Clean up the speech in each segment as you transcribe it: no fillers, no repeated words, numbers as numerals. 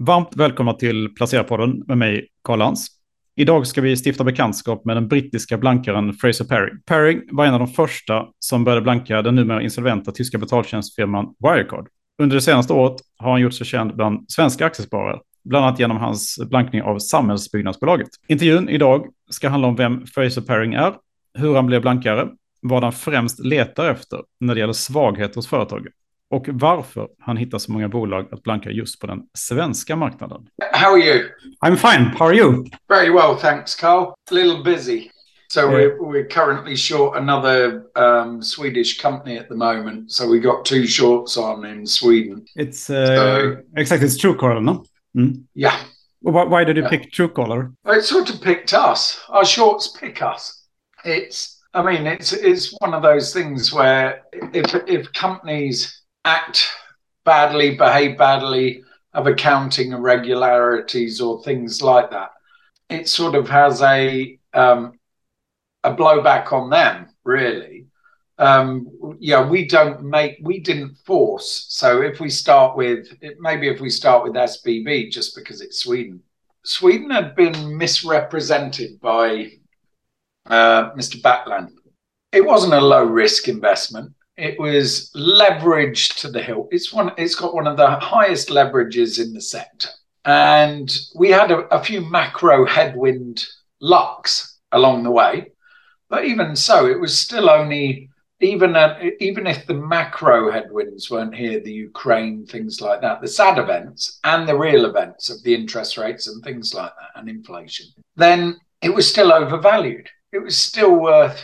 Varmt välkomna till Placerarpodden med mig, Karl Lans. Idag ska vi stifta bekantskap med den brittiska blankaren Fraser Paring. Paring var en av de första som började blanka den numera insolventa tyska betaltjänstfirman Wirecard. Under det senaste året har han gjort sig känd bland svenska aktiesparare, bland annat genom hans blankning av Samhällsbyggnadsbolaget. Intervjun idag ska handla om vem Fraser Paring är, hur han blev blankare, vad han främst letar efter när det gäller svaghet hos företaget och varför han hittar så många bolag att blanka just på den svenska marknaden. How are you? I'm fine. How are you? Very well, thanks, Carl. A little busy. So we're currently short another Swedish company at the moment. So we got two shorts on in Sweden. It's exactly, it's Truecaller, no? Mm. Yeah. Why did you pick Truecaller? Well, it sort of picked us. Our shorts pick us. It's one of those things where if companies act badly, behave badly, have accounting irregularities or things like that, it sort of has a blowback on them, really. We didn't force. So if we start with SBB, just because it's Sweden had been misrepresented by Mr. Backland. It wasn't a low risk investment. It was leveraged to the hilt. It's got one of the highest leverages in the sector. And we had a few macro headwind lucks along the way. But even so, it was still only, even if the macro headwinds weren't here, the Ukraine, things like that, the sad events and the real events of the interest rates and things like that and inflation, then it was still overvalued. It was still worth,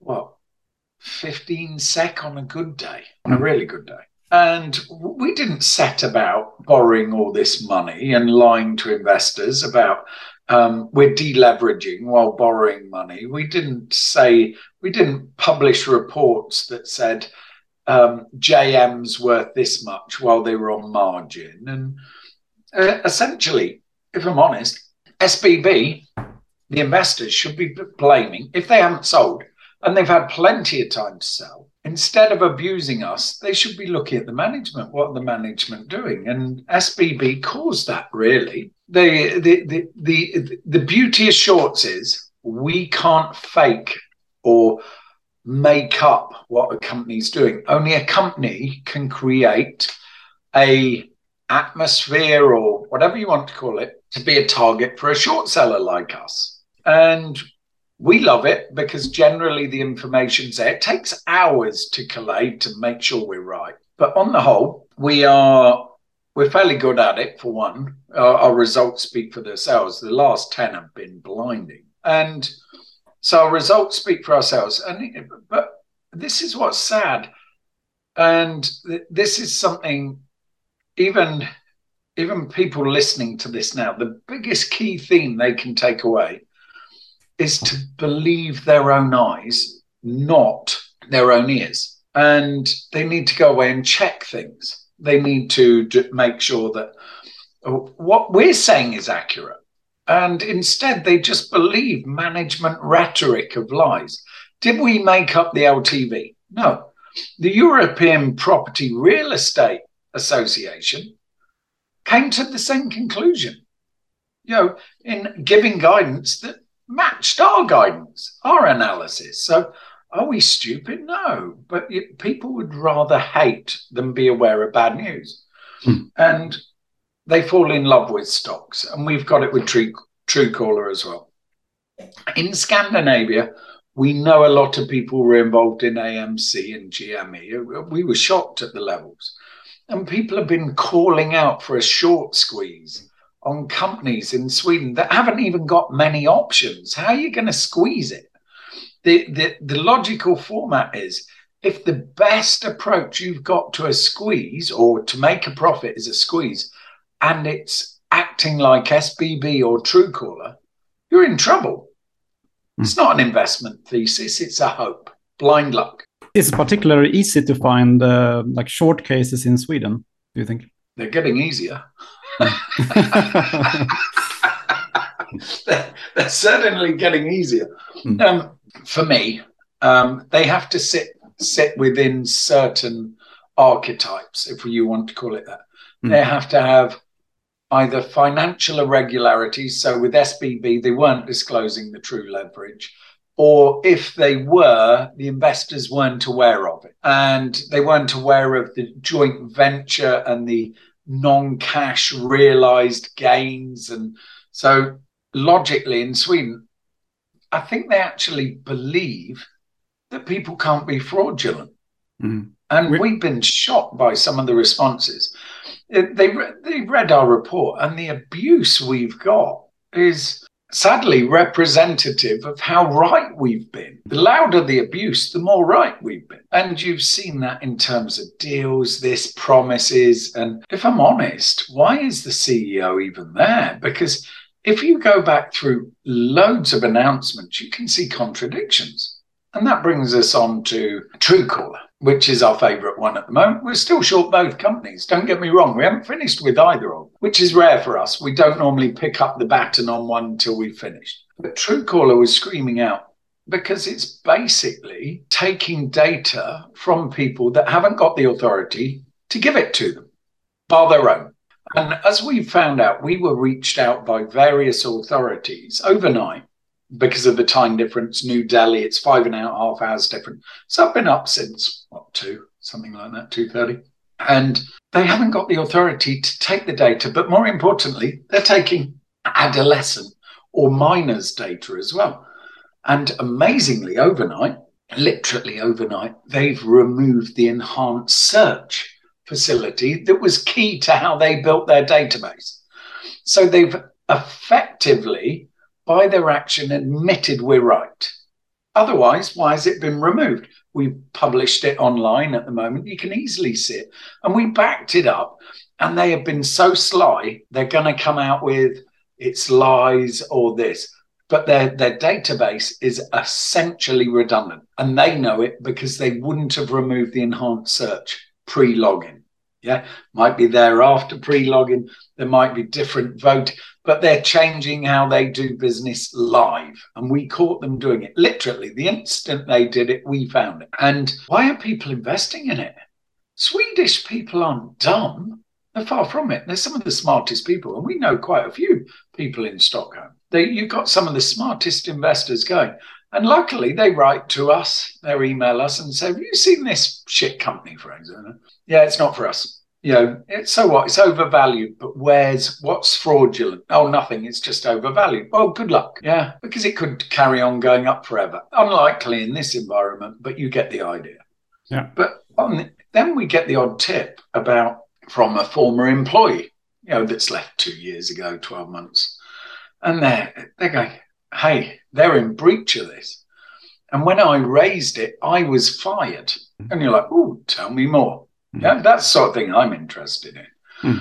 15 SEK on a good day, on a really good day. And we didn't set about borrowing all this money and lying to investors about we're deleveraging while borrowing money. We didn't publish reports that said JM's worth this much while they were on margin. And essentially, if I'm honest, SBB, the investors should be blaming, if they haven't sold, and they've had plenty of time to sell, instead of abusing us, they should be looking at the management. What are the management doing? And SBB caused that, really. The beauty of shorts is we can't fake or make up what a company's doing. Only a company can create a atmosphere or whatever you want to call it to be a target for a short seller like us. And we love it because generally the information's there. It takes hours to collate to make sure we're right. But on the whole, we're fairly good at it, for one. Our results speak for themselves. The last 10 have been blinding. And so our results speak for ourselves. But this is what's sad. And this is something, even people listening to this now, the biggest key theme they can take away is to believe their own eyes, not their own ears. And they need to go away and check things. They need to make sure that what we're saying is accurate. And instead, they just believe management rhetoric of lies. Did we make up the LTV? No. The European Property Real Estate Association came to the same conclusion, in giving guidance that matched our guidance, our analysis. So are we stupid? No, but people would rather hate than be aware of bad news. And they fall in love with stocks. And we've got it with Truecaller as well. In Scandinavia, we know a lot of people were involved in AMC and GME. We were shocked at the levels. And people have been calling out for a short squeeze on companies in Sweden that haven't even got many options. How are you going to squeeze it? The logical format is, if the best approach you've got to a squeeze or to make a profit is a squeeze, and it's acting like SBB or Truecaller, you're in trouble. It's not an investment thesis, it's a hope. Blind luck. Is it particularly easy to find short cases in Sweden, do you think? They're getting easier. They're certainly getting easier. For me, they have to sit within certain archetypes, if you want to call it that. They have to have either financial irregularities, so with SBB, they weren't disclosing the true leverage, or if they were, the investors weren't aware of it. And they weren't aware of the joint venture and the non-cash realized gains. And so logically in Sweden, I think they actually believe that people can't be fraudulent. Mm. And we've been shocked by some of the responses. They read our report, and the abuse we've got is sadly representative of how right we've been. The louder the abuse, the more right we've been. And you've seen that in terms of deals, this promises. And if I'm honest, why is the CEO even there? Because if you go back through loads of announcements, you can see contradictions. And that brings us on to Truecaller, which is our favourite one at the moment. We're still short both companies. Don't get me wrong. We haven't finished with either of them, which is rare for us. We don't normally pick up the baton on one until we've finished. But Truecaller was screaming out because it's basically taking data from people that haven't got the authority to give it to them, bar their own. And as we found out, we were reached out by various authorities overnight. Because of the time difference, New Delhi, it's 5.5 hours different. So I've been up since, 2, something like that, 2:30. And they haven't got the authority to take the data. But more importantly, they're taking adolescent or minors data as well. And amazingly, overnight, literally overnight, they've removed the enhanced search facility that was key to how they built their database. So they've effectively, by their action, admitted we're right. Otherwise, why has it been removed? We've published it online at the moment. You can easily see it. And we backed it up. And they have been so sly, they're going to come out with it's lies or this. But their database is essentially redundant. And they know it because they wouldn't have removed the enhanced search pre-login. Yeah, might be there after pre-login. There might be different vote, but they're changing how they do business live. And we caught them doing it. Literally, the instant they did it, we found it. And why are people investing in it? Swedish people aren't dumb. They're far from it. They're some of the smartest people. And we know quite a few people in Stockholm. You've got some of the smartest investors going. And luckily, they write to us, they email us and say, have you seen this shit company, for example? Yeah, it's not for us. You know, so what? It's overvalued, but what's fraudulent? Oh, nothing. It's just overvalued. Well, good luck. Yeah, because it could carry on going up forever. Unlikely in this environment, but you get the idea. Yeah. But then we get the odd tip from a former employee, that's left 2 years ago, 12 months. And they're going, hey, they're in breach of this. And when I raised it, I was fired. And you're like, oh, tell me more. Yeah, that's the sort of thing I'm interested in.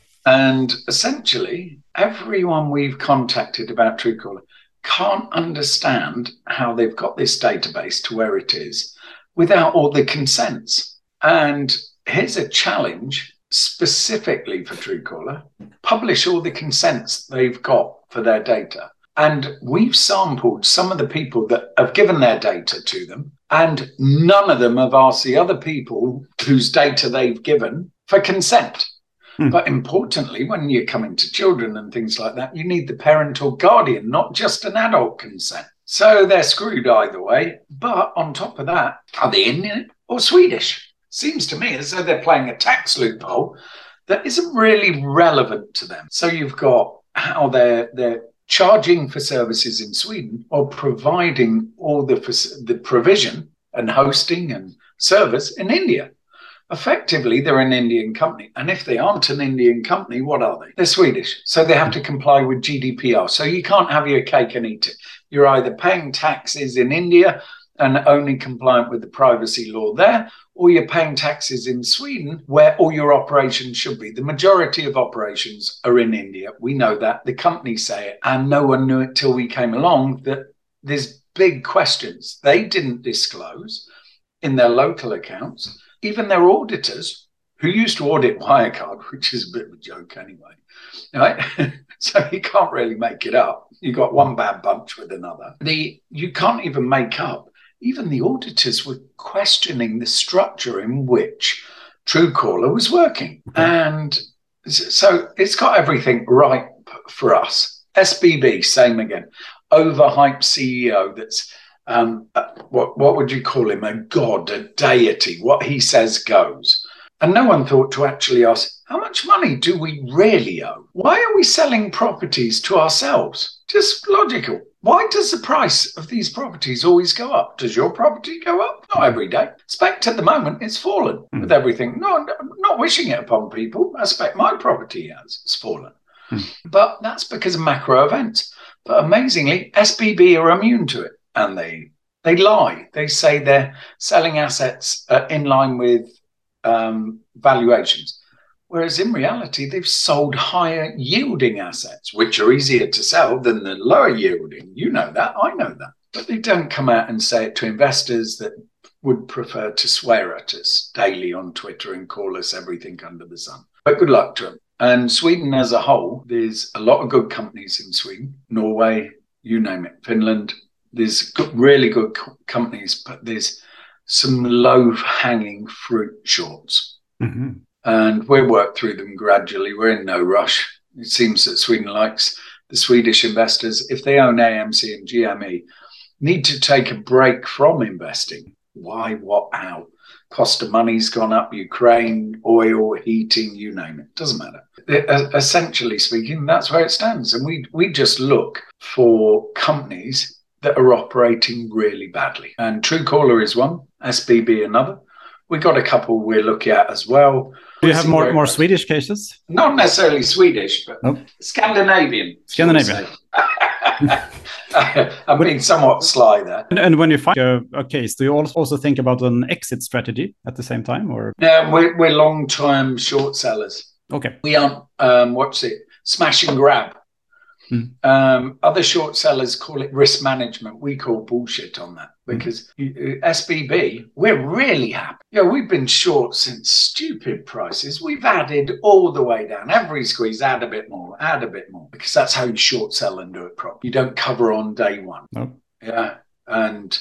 And essentially, everyone we've contacted about Truecaller can't understand how they've got this database to where it is without all the consents. And here's a challenge specifically for Truecaller. Publish all the consents they've got for their data. And we've sampled some of the people that have given their data to them, and none of them have asked the other people whose data they've given for consent. But importantly, when you're coming to children and things like that, you need the parent or guardian, not just an adult consent. So they're screwed either way. But on top of that, are they Indian or Swedish? Seems to me as though they're playing a tax loophole that isn't really relevant to them. So you've got how they're charging for services in Sweden or providing all the provision and hosting and service in India. Effectively, they're an Indian company. And if they aren't an Indian company, what are they? They're Swedish. So they have to comply with GDPR. So you can't have your cake and eat it. You're either paying taxes in India and only compliant with the privacy law there, or you're paying taxes in Sweden where all your operations should be. The majority of operations are in India. We know that. The companies say it. And no one knew it till we came along that there's big questions. They didn't disclose in their local accounts. Even their auditors, who used to audit Wirecard, which is a bit of a joke anyway, right? So you can't really make it up. You got one bad bunch with another. You can't even make up. Even the auditors were questioning the structure in which Truecaller was working. And So it's got everything right for us. SBB, same again. Overhyped CEO that's, what would you call him? A god, a deity. What he says goes. And no one thought to actually ask, how much money do we really owe? Why are we selling properties to ourselves? Just logical. Why does the price of these properties always go up? Does your property go up? Not every day. I expect at the moment it's fallen with everything. No, I'm not wishing it upon people. I expect my property has fallen. But that's because of macro events. But amazingly, SBB are immune to it. And they lie. They say they're selling assets in line with valuations. Whereas in reality, they've sold higher yielding assets, which are easier to sell than the lower yielding. You know that, I know that. But they don't come out and say it to investors that would prefer to swear at us daily on Twitter and call us everything under the sun. But good luck to them. And Sweden as a whole, there's a lot of good companies in Sweden, Norway, you name it, Finland. There's really good companies, but there's some low-hanging fruit shorts. Mm-hmm. And we'll work through them gradually. We're in no rush. It seems that Sweden likes the Swedish investors, if they own AMC and GME, need to take a break from investing. Why, what, how? Cost of money's gone up, Ukraine, oil, heating, you name it. Doesn't matter. Essentially speaking, that's where it stands. And we just look for companies that are operating really badly. And Truecaller is one, SBB another. We got a couple we're looking at as well. Do you have more Swedish cases? Not necessarily Swedish, but nope. Scandinavian. I'm being somewhat sly there. And when you find a case, do you also think about an exit strategy at the same time? Or yeah, we're long-term short sellers. Okay. We aren't, smash and grab. Other short sellers call it risk management. We call bullshit on that because SBB, we're really happy. We've been short since stupid prices. We've added all the way down. Every squeeze, add a bit more, because that's how you short sell and do it properly. You don't cover on day one. Nope. Yeah. And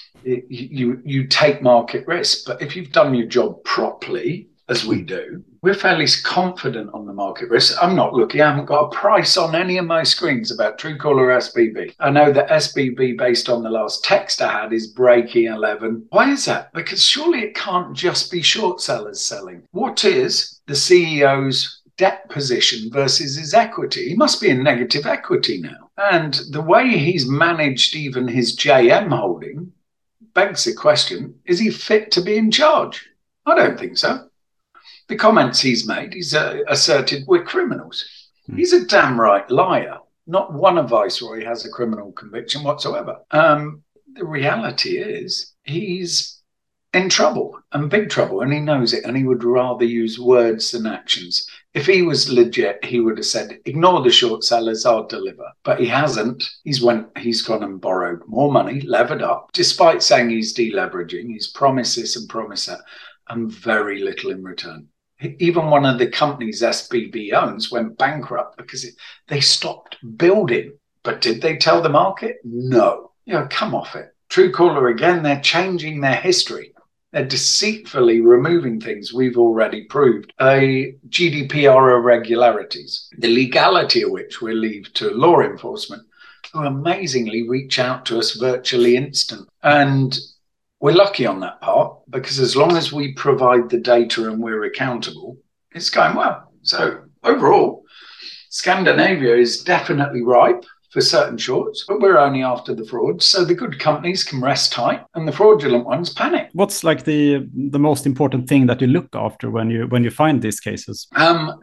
you take market risk. But if you've done your job properly, as we do, we're fairly confident on the market risk. I'm not looking, I haven't got a price on any of my screens about Truecaller or SBB. I know that SBB, based on the last text I had, is breaking 11. Why is that? Because surely it can't just be short sellers selling. What is the CEO's debt position versus his equity? He must be in negative equity now. And the way he's managed even his JM holding begs the question, is he fit to be in charge? I don't think so. The comments he's made, he's asserted we're criminals. He's a damn right liar. Not one of Viceroy has a criminal conviction whatsoever. The reality is he's in trouble and big trouble, and he knows it, and he would rather use words than actions. If he was legit, he would have said, ignore the short sellers, I'll deliver. But he hasn't. He's gone and borrowed more money, levered up, despite saying he's deleveraging. He's promised this and promised that, and very little in return. Even one of the companies SBB owns went bankrupt because they stopped building. But did they tell the market? No. Come off it. Truecaller, again, they're changing their history. They're deceitfully removing things we've already proved. GDPR irregularities, the legality of which we'll leave to law enforcement, who amazingly reach out to us virtually instant. And we're lucky on that part because as long as we provide the data and we're accountable, it's going well. So overall, Scandinavia is definitely ripe for certain shorts, but we're only after the frauds. So the good companies can rest tight and the fraudulent ones panic. What's like the most important thing that you look after when you find these cases? The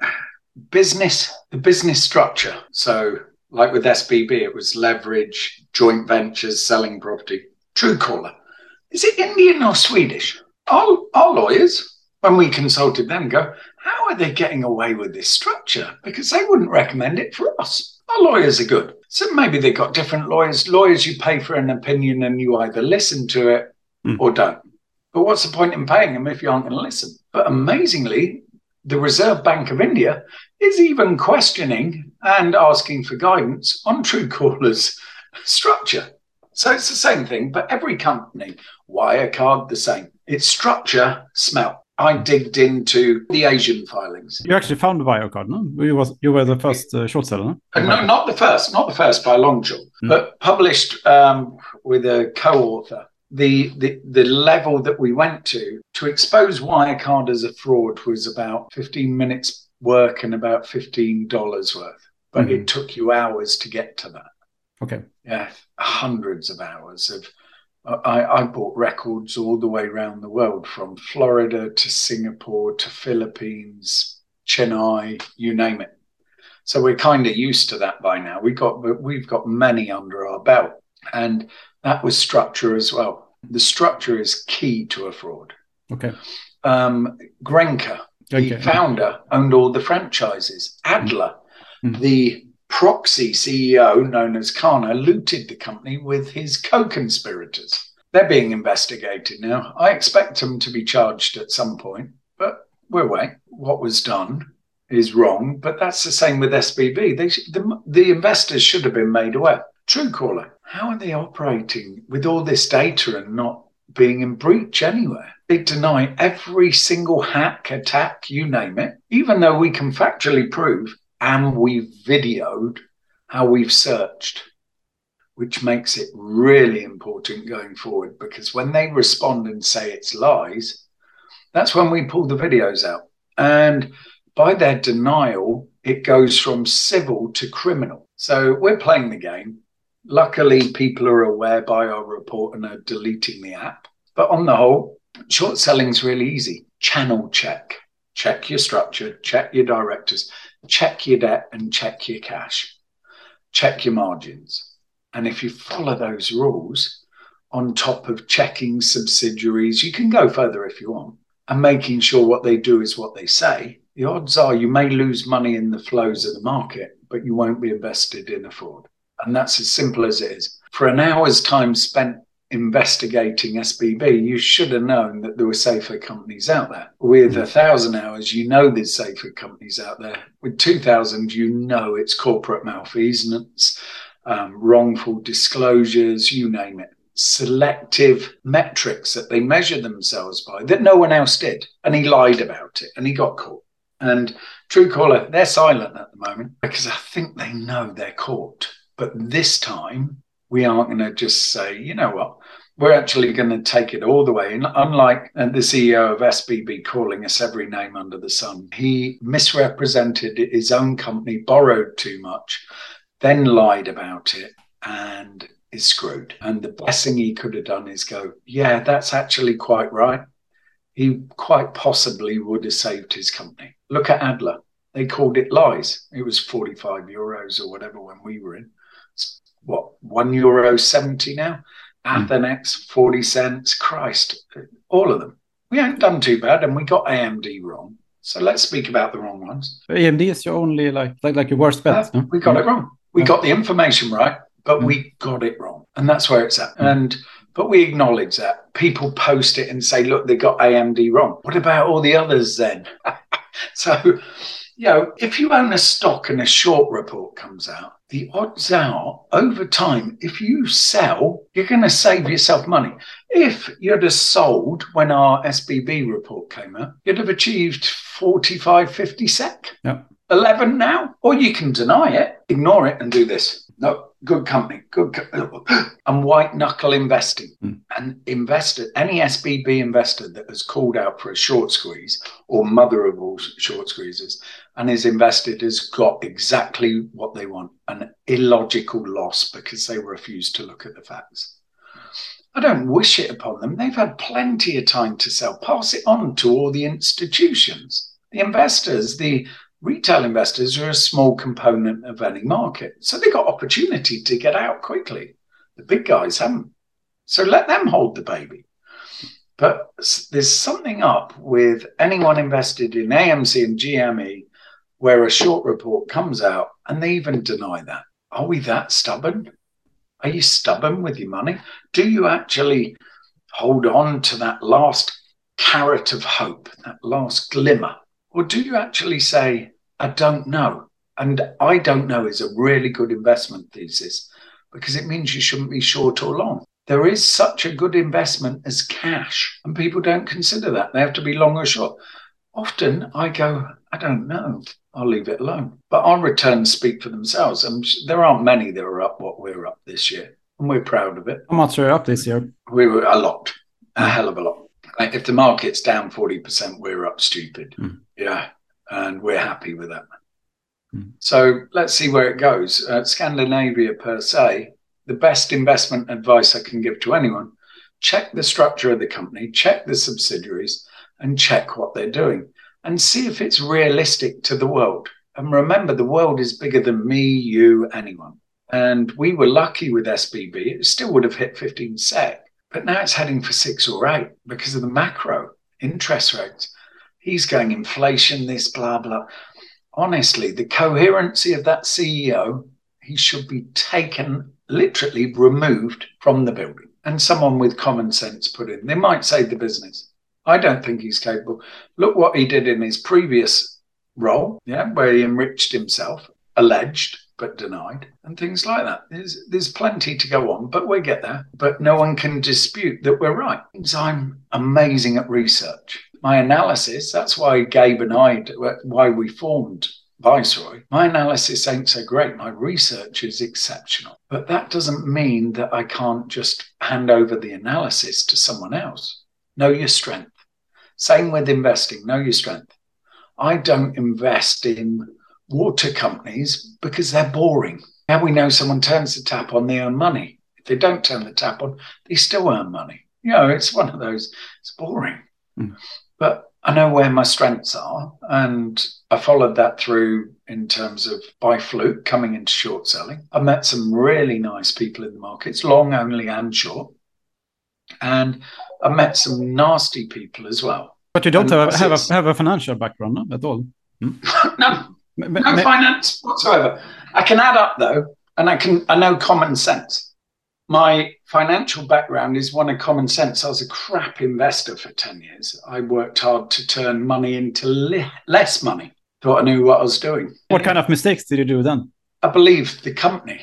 business structure. So like with SBB, it was leverage, joint ventures, selling property. Truecaller. Is it Indian or Swedish? Our lawyers, when we consulted them, go, how are they getting away with this structure? Because they wouldn't recommend it for us. Our lawyers are good. So maybe they've got different lawyers. Lawyers, you pay for an opinion and you either listen to it or don't. But what's the point in paying them if you aren't going to listen? But amazingly, the Reserve Bank of India is even questioning and asking for guidance on Truecaller's structure. So it's the same thing, but every company, Wirecard, the same. It's structure, smell. I digged into the Asian filings. You actually found Wirecard, no? You were the first short seller, no? No, not the first by a long shot, but published with a co-author. The level that we went to expose Wirecard as a fraud was about 15 minutes work and about $15 worth. But it took you hours to get to that. Okay. Yeah, hundreds of hours of. I bought records all the way around the world, from Florida to Singapore to Philippines, Chennai, you name it. So we're kind of used to that by now. We've got many under our belt, and that was structure as well. The structure is key to a fraud. Okay. Grenke, the founder, owned all the franchises. Adler, the proxy CEO known as Kana, looted the company with his co-conspirators. They're being investigated now. I expect them to be charged at some point, but we'll wait. What was done is wrong, but that's the same with SBB. The investors should have been made aware. Truecaller, how are they operating with all this data and not being in breach anywhere? They deny every single hack, attack, you name it, even though we can factually prove and we've videoed how we've searched, which makes it really important going forward, because when they respond and say it's lies, that's when we pull the videos out. And by their denial, it goes from civil to criminal. So we're playing the game. Luckily, people are aware by our report and are deleting the app. But on the whole, short selling is really easy. Channel check. Check your structure, check your directors, check your debt, and check your cash. Check your margins. And if you follow those rules, on top of checking subsidiaries, you can go further if you want, and making sure what they do is what they say, the odds are you may lose money in the flows of the market, but you won't be invested in a fraud. And that's as simple as it is. For an hour's time spent investigating SBB, you should have known that there were safer companies out there. With 1,000 hours, you know there's safer companies out there. With 2,000, you know it's corporate malfeasance, wrongful disclosures, you name it. Selective metrics that they measure themselves by that no one else did. And he lied about it and he got caught. And Truecaller, they're silent at the moment because I think they know they're caught. But this time, we aren't going to just say, you know what, we're actually going to take it all the way. And unlike the CEO of SBB calling us every name under the sun, he misrepresented his own company, borrowed too much, then lied about it and is screwed. And the best thing he could have done is go, yeah, that's actually quite right. He quite possibly would have saved his company. Look at Adler. They called it lies. It was 45 euros or whatever when we were in. What, €1.70 now? Athenex, 40 cents. Christ, all of them. We ain't done too bad, and we got AMD wrong. So let's speak about the wrong ones. AMD is your only like your worst bet. No? We got it wrong. We got the information right, but we got it wrong, and that's where it's at. But we acknowledge that. People post it and say, look, they got AMD wrong. What about all the others then? So, you know, if you own a stock and a short report comes out, the odds are over time, if you sell, you're going to save yourself money. If you'd have sold when our SBB report came out, you'd have achieved 45, 50 sec. Yeah. 11 now. Or you can deny it, ignore it and do this. No, good company, and white knuckle investing. And any SBB investor that has called out for a short squeeze or mother of all short squeezes and is invested has got exactly what they want, an illogical loss because they refuse to look at the facts. I don't wish it upon them. They've had plenty of time to sell. Pass it on to all the institutions. The investors, the retail investors are a small component of any market. So they got opportunity to get out quickly. The big guys haven't. So let them hold the baby. But there's something up with anyone invested in AMC and GME where a short report comes out and they even deny that. Are we that stubborn? Are you stubborn with your money? Do you actually hold on to that last carrot of hope, that last glimmer? Or do you actually say, I don't know? And I don't know is a really good investment thesis because it means you shouldn't be short or long. there is such a good investment as cash, and people don't consider that. They have to be long or short. Often I go, I don't know. I'll leave it alone. But our returns speak for themselves. And there aren't many that are up what we're up this year. And we're proud of it. How much are you up this year? We were a lot, a hell of a lot. Like if the market's down 40%, we're up stupid. Yeah. And we're happy with that. So let's see where it goes. Scandinavia per se, the best investment advice I can give to anyone, check the structure of the company, check the subsidiaries, and check what they're doing and see if it's realistic to the world. And remember, the world is bigger than me, you, anyone. And we were lucky with SBB. It still would have hit 15 sec, but now it's heading for 6 or 8 because of the macro interest rates. He's going inflation, this, blah, blah. Honestly, the coherency of that CEO, he should be taken, literally removed from the building and someone with common sense put in. They might save the business. I don't think he's capable. Look what he did in his previous role, where he enriched himself, alleged but denied, and things like that. There's plenty to go on, but we'll get there. But no one can dispute that we're right. I'm amazing at research. My analysis, that's why Gabe and I, why we formed Viceroy, my analysis ain't so great. My research is exceptional. But that doesn't mean that I can't just hand over the analysis to someone else. Know your strength. Same with investing, know your strength. I don't invest in water companies because they're boring. Now we know someone turns the tap on, they earn money. If they don't turn the tap on, they still earn money. It's one of those, it's boring. But I know where my strengths are, and I followed that through in terms of by fluke coming into short selling. I met some really nice people in the markets, long only and short. And I met some nasty people as well. But you don't have a financial background, no, at all? No finance whatsoever. I can add up though, and I know common sense. My financial background is one of common sense. I was a crap investor for 10 years. I worked hard to turn money into less money. Thought I knew what I was doing. What kind of mistakes did you do then? I believed the company.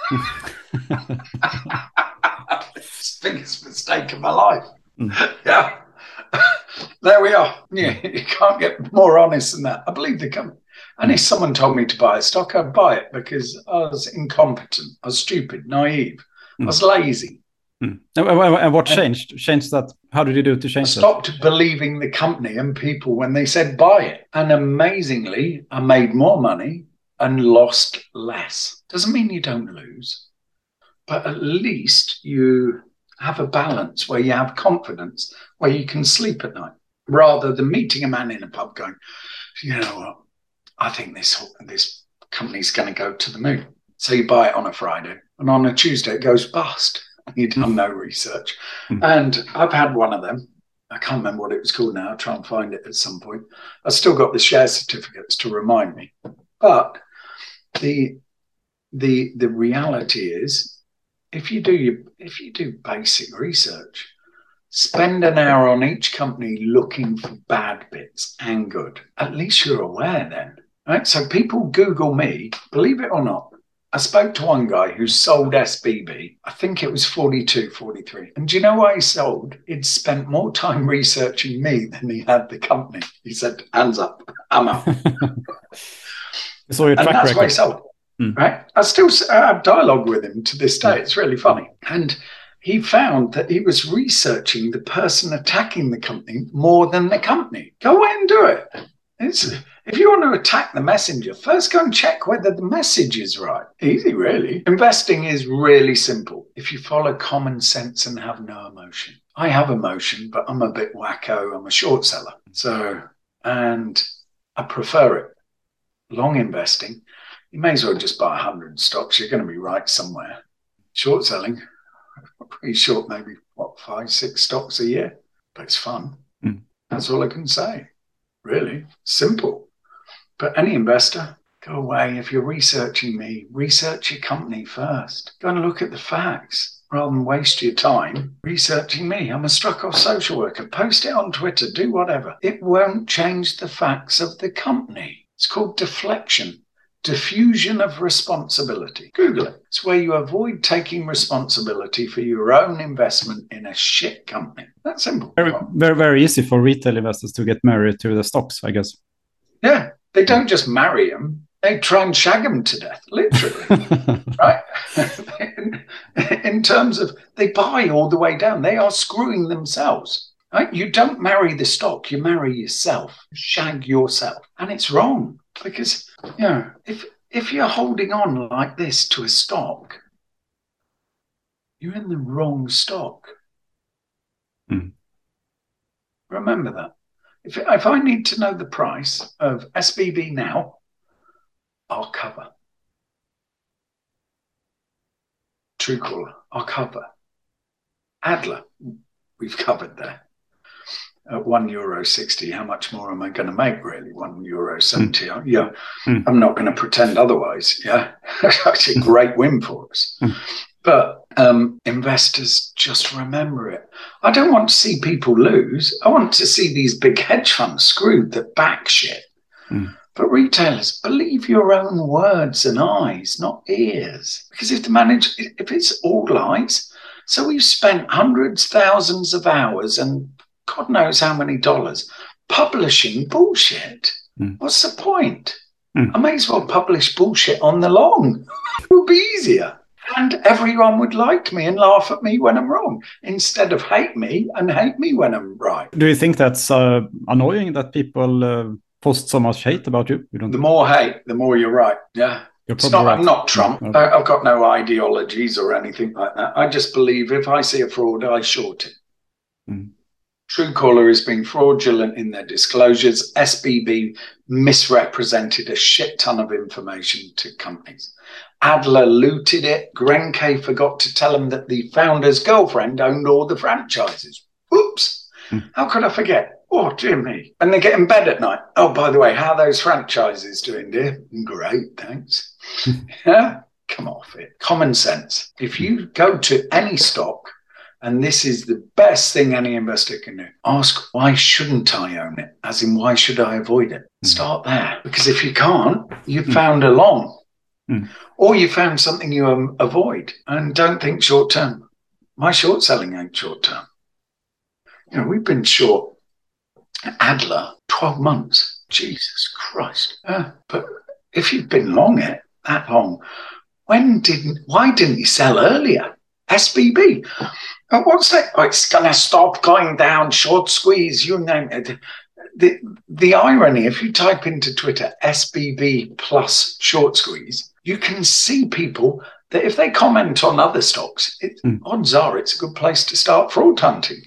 It's the biggest mistake of my life. Yeah. There we are. Yeah, you can't get more honest than that. I believe the company. And if someone told me to buy a stock, I'd buy it because I was incompetent. I was stupid, naive. I was lazy. And what changed? Changed that? How did you do to change that? I stopped believing the company and people when they said buy it. And amazingly, I made more money and lost less. Doesn't mean you don't lose, but at least you have a balance where you have confidence, where you can sleep at night, rather than meeting a man in a pub going, you know what, I think this company's going to go to the moon. So you buy it on a Friday, and on a Tuesday it goes bust. You've done no research. And I've had one of them. I can't remember what it was called now. I'll try and find it at some point. I've still got the share certificates to remind me. But the reality is, if you do basic research, spend an hour on each company looking for bad bits and good. At least you're aware then, right? So people Google me, believe it or not. I spoke to one guy who sold SBB. I think it was 42, 43. And do you know why he sold? He'd spent more time researching me than he had the company. He said, hands up, I'm out. So your track and that's record. Why he sold. Right? I still have dialogue with him to this day. It's really funny. And he found that he was researching the person attacking the company more than the company. Go away and do it. If you want to attack the messenger, first go and check whether the message is right. Easy, really. Investing is really simple if you follow common sense and have no emotion. I have emotion, but I'm a bit wacko. I'm a short seller. And I prefer it. Long investing, you may as well just buy 100 stocks. You're going to be right somewhere. Short selling, pretty short, maybe 5, 6 stocks a year, but it's fun. That's all I can say. Really simple. But any investor, go away. If you're researching me, research your company first. Go and look at the facts rather than waste your time researching me. I'm a struck off social worker. Post it on Twitter, do whatever. It won't change the facts of the company. It's called deflection. diffusion of responsibility. Google it. It's where you avoid taking responsibility for your own investment in a shit company. That's simple. Very, very easy for retail investors to get married to the stocks, I guess. Yeah, they don't just marry them. They try and shag them to death, literally, right? In terms of, they buy all the way down. They are screwing themselves, right? You don't marry the stock, you marry yourself, shag yourself. And it's wrong because, if you're holding on like this to a stock, you're in the wrong stock. Remember that. If I need to know the price of SBB now, I'll cover. Truecaller, I'll cover. Adler, we've covered there. At €1.60, how much more am I going to make, really? €1.70. Yeah, I'm not going to pretend otherwise. Yeah, it's a great win for us. But investors, just remember it. I don't want to see people lose. I want to see these big hedge funds screwed that back shit. But retailers, believe your own words and eyes, not ears. Because if it's all lies, so we've spent hundreds, thousands of hours and God knows how many dollars publishing bullshit. What's the point? I may as well publish bullshit on the long. It would be easier. And everyone would like me and laugh at me when I'm wrong, instead of hate me and hate me when I'm right. Do you think that's annoying that people post so much hate about you? The more hate, the more you're right. Yeah. I'm not Trump. No. I've got no ideologies or anything like that. I just believe if I see a fraud, I short it. Truecaller has been fraudulent in their disclosures. SBB misrepresented a shit ton of information to companies. Adler looted it. Grenke forgot to tell him that the founder's girlfriend owned all the franchises. Oops. How could I forget? Oh, dear me. And they get in bed at night. Oh, by the way, how are those franchises doing, dear? Great, thanks. Yeah, come off it. Common sense. If you go to any stock, and this is the best thing any investor can do, ask, why shouldn't I own it? As in, why should I avoid it? Start there. Because if you can't, you've found a long. Or you found something you avoid. And don't think short term. My short selling ain't short term. We've been short Adler 12 months. Jesus Christ. But if you've been long it that long, why didn't you sell earlier? SBB. What's that? Oh, it's going to stop going down, short squeeze, you name it. The irony, if you type into Twitter SBB plus short squeeze, you can see people that if they comment on other stocks, odds are it's a good place to start fraud hunting.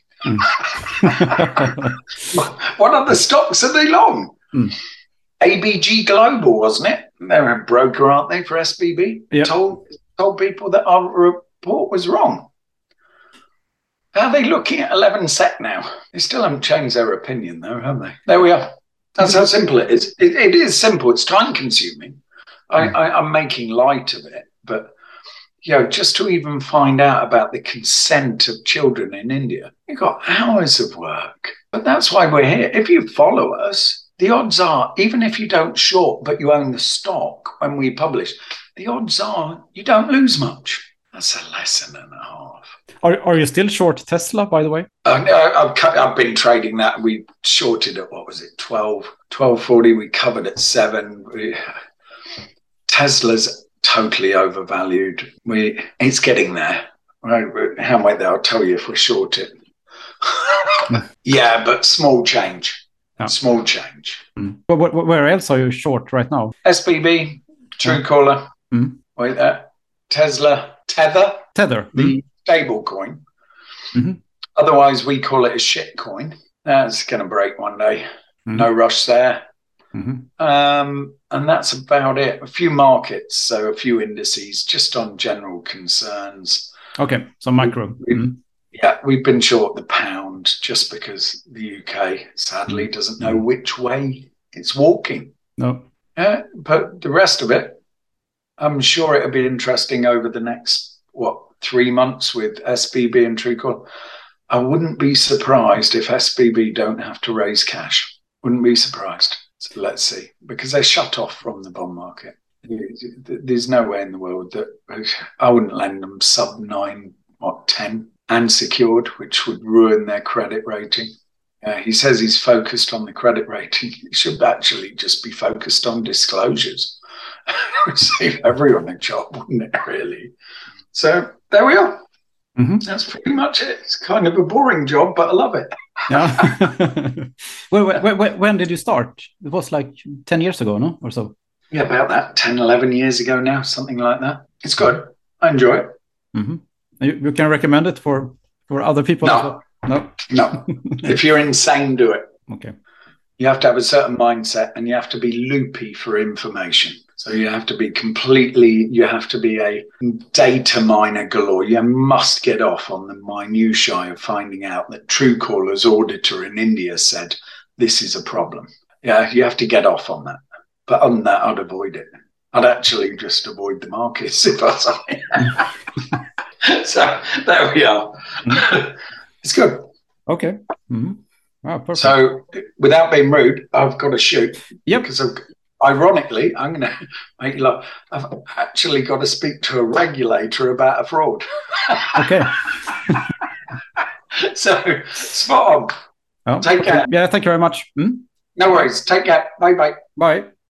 What other stocks are they long? ABG Global, wasn't it? They're a broker, aren't they, for SBB? Yep. Told people that our report was wrong. How are they looking at 11 SEK now? They still haven't changed their opinion, though, have they? There we are. That's how simple it is. It is simple. It's time-consuming. I'm making light of it. But, just to even find out about the consent of children in India, you've got hours of work. But that's why we're here. If you follow us, the odds are, even if you don't short, but you own the stock when we publish, the odds are you don't lose much. That's a lesson and a half. Are you still short Tesla, by the way? I've been trading that. We shorted at, 12.40. We covered at 7. Tesla's totally overvalued. It's getting there. Right? How wait there? I'll tell you if we short it. Yeah, but small change. Oh. Small change. But where else are you short right now? SBB, Truecaller. Wait there. Tesla. Tether. The stable coin. Otherwise, we call it a shit coin. That's going to break one day. No rush there. And that's about it. A few markets, so a few indices, just on general concerns. Okay, so micro. We've been short the pound just because the UK sadly doesn't know which way it's walking. No. But the rest of it, I'm sure it'll be interesting over the next, 3 months with SBB and Truecaller. I wouldn't be surprised if SBB don't have to raise cash. Wouldn't be surprised. So let's see, because they're shut off from the bond market. There's no way in the world that I wouldn't lend them sub 9, 10 and secured, which would ruin their credit rating. He says he's focused on the credit rating. He should actually just be focused on disclosures. It would save everyone a job, wouldn't it, really? So there we are. Mm-hmm. That's pretty much it. It's kind of a boring job, but I love it. Yeah. When did you start? It was like 10 years ago, no? Or so? Yeah, about that. 10, 11 years ago now, something like that. It's good. I enjoy it. Mm-hmm. You can recommend it for other people? No. No. If you're insane, do it. Okay. You have to have a certain mindset and you have to be loopy for information. So you have to be a data miner galore. You must get off on the minutiae of finding out that Truecaller's auditor in India said, this is a problem. Yeah, you have to get off on that. But other than that, I'd avoid it. I'd actually just avoid the markets if I was on it. So there we are. Mm-hmm. It's good. Okay. Mm-hmm. Wow, perfect. So without being rude, I've got to shoot. Yep. Because ironically, I'm going to make you laugh. I've actually got to speak to a regulator about a fraud. Okay. So spot on. Oh, take care. Yeah, thank you very much. No worries. Take care. Bye-bye. Bye.